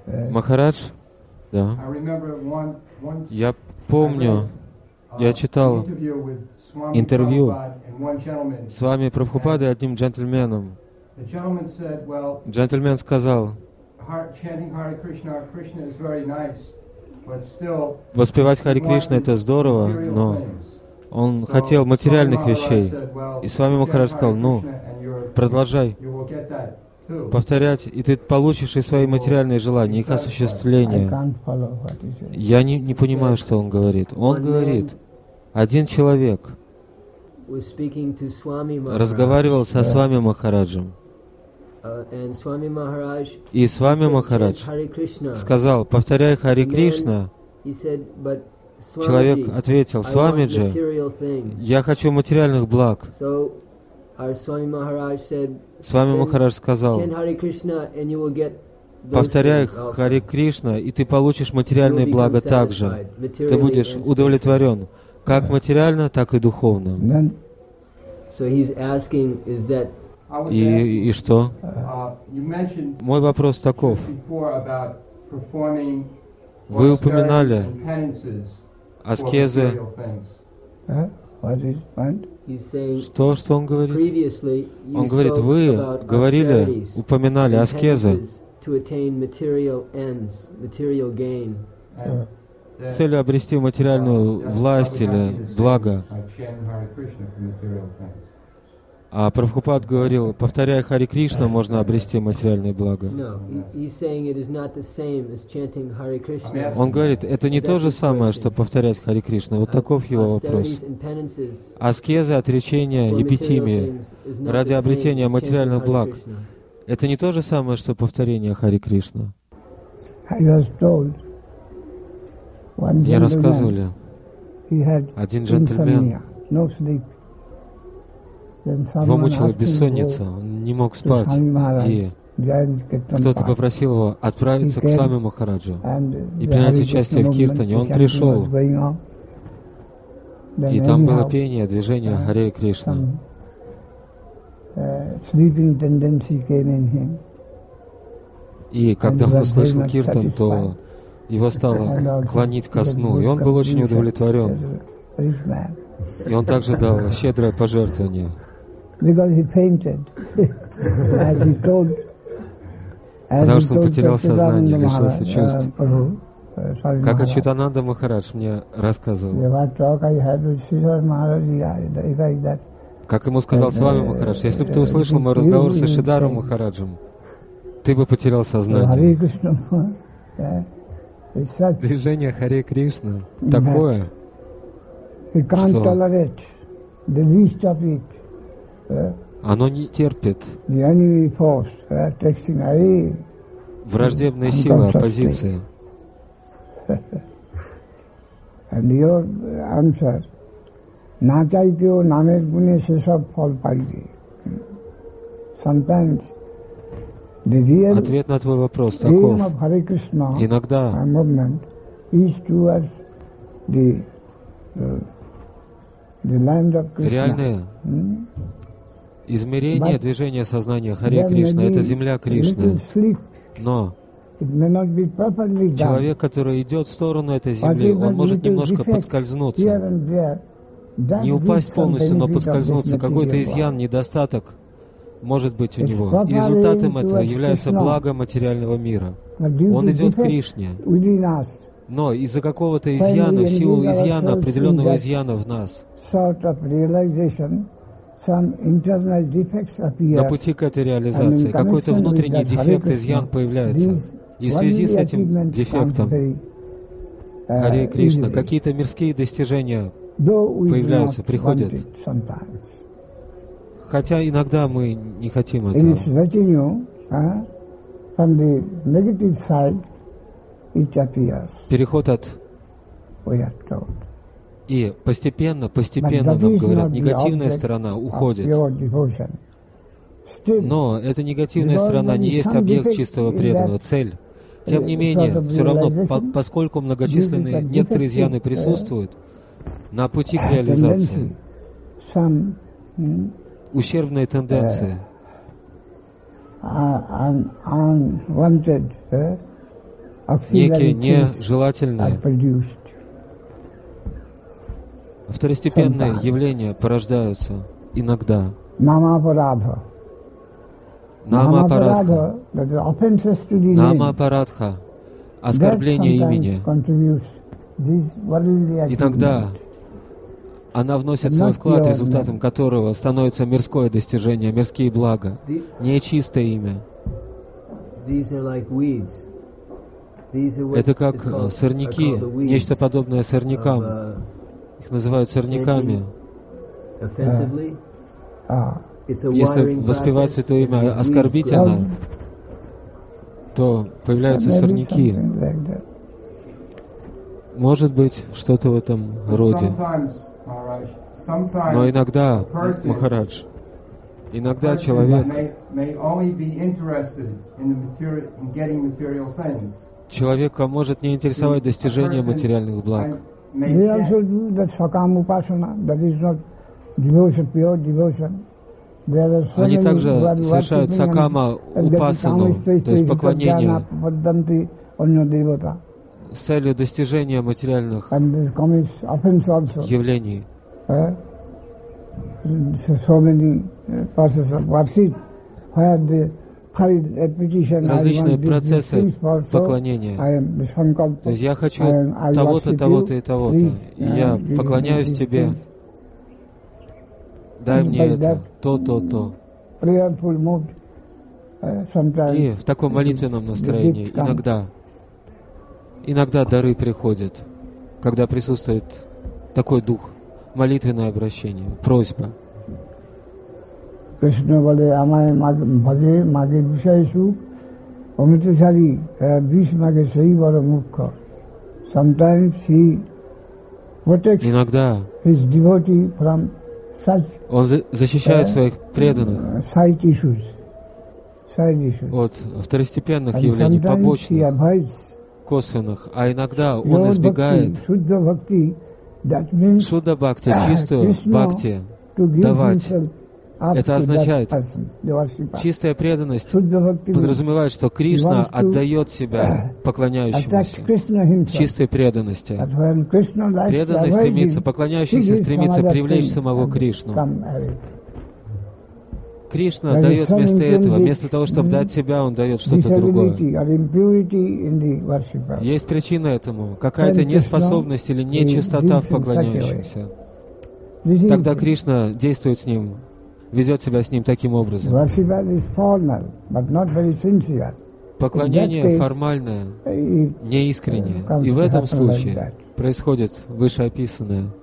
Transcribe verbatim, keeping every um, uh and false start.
Махарадж, да. Я помню, я читал интервью с вами Прабхупадой, одним джентльменом. Джентльмен сказал, воспевать Хари Кришна — это здорово, но он хотел материальных вещей. И с вами Махарадж сказал, ну, продолжай повторять, и ты получишь и свои материальные желания, их осуществление. Я не, не понимаю, что он говорит. Он говорит, один человек разговаривал со Свами Махараджем, и Свами Махарадж сказал, повторяй Хари Кришна. Человек ответил, Свамиджи, я хочу материальных благ. Свами Махарадж сказал, повторяй Хари Кришна, и ты получишь материальные блага также. Ты будешь удовлетворен, как материально, так и духовно. И, и что? Мой вопрос таков. Вы упоминали аскезы. Что, что он говорит? Он говорит, вы говорили, упоминали аскезы, целью обрести материальную власть или благо. А Прабхупад говорил, повторяя Хари Кришна, можно обрести материальные блага. Он говорит, это не то же самое, что повторять Хари Кришна. Вот таков его вопрос. Аскезы, отречения, епитимии ради обретения материальных благ. Это не то же самое, что повторение Хари Кришна. Мне рассказывали, один джентльмен, его мучила бессонница, он не мог спать, и кто-то попросил его отправиться к Свами Махараджу и принять участие в киртане. Он пришел, и там было пение, движение Харе Кришна. И когда он услышал киртан, то его стало клонить ко сну, и он был очень удовлетворен. И он также дал щедрое пожертвование. Потому что он потерял сознание, лишился чувств. Как Ачютананда Махарадж мне рассказывал. Как ему сказал Свами Махарадж, если бы ты услышал мой разговор с Ишидару Махараджем, ты бы потерял сознание. Движение Харе Кришна такое, что оно не терпит враждебной силы, оппозиции. Ответ на твой вопрос таков. Иногда реальное измерение движения сознания Харе Кришна — это земля Кришны. Но человек, который идет в сторону этой земли, он может немножко подскользнуться. Не упасть полностью, но подскользнуться. Какой-то изъян, недостаток может быть у него. И результатом этого является благо материального мира. Он идет к Кришне. Но из-за какого-то изъяна, в силу изъяна, определенного изъяна в нас, на пути к этой реализации какой-то внутренний дефект, изъян появляется. И в связи с этим дефектом Харе Кришна какие-то мирские достижения появляются, приходят. Хотя иногда мы не хотим этого. Переход от... И постепенно, постепенно нам говорят, негативная сторона уходит. Но эта негативная сторона не есть объект чистого преданного, цель. Тем не менее, все равно, по, поскольку многочисленные некоторые изъяны присутствуют на пути к реализации, ущербные тенденции, некие нежелательные, второстепенные явления порождаются иногда. Нама-апарадха. Нама-апарадха. Нама-апарадха. Оскорбление имени. Иногда она вносит свой вклад, результатом которого становится мирское достижение, мирские блага, нечистое имя. Это как сорняки, нечто подобное сорнякам. Их называют сорняками. Если воспевать святое имя оскорбительно, то появляются сорняки. Может быть, что-то в этом роде. Но иногда, Махарадж, иногда человек, человека может не интересовать достижение материальных благ. Они также совершают сакама упасану, то есть поклонение с целью достижения материальных явлений. Различные процессы поклонения. То есть я хочу того-то, того-то и того-то. И я поклоняюсь тебе. Дай мне это, то, то, то. И в таком молитвенном настроении иногда, иногда дары приходят, когда присутствует такой дух, молитвенное обращение, просьба. Krishna bole amay bhaje mage vishayeshu amitesari vish mage sahi baro mukha. Sometimes he protects his devotee from such Он защищает своих преданных от второстепенных явлений, побочных, косвенных, а иногда он избегает шудда бхакти, чистую бхакти, давать. Это означает, чистая преданность подразумевает, что Кришна отдает себя поклоняющемуся в чистой преданности. Преданный стремится, поклоняющийся стремится привлечь самого Кришну. Кришна дает вместо этого, вместо того, чтобы дать себя, он дает что-то другое. Есть причина этому, какая-то неспособность или нечистота в поклоняющемся. Тогда Кришна действует с ним, ведет себя с ним таким образом. Поклонение формальное, неискреннее. И в этом случае происходит вышеописанное.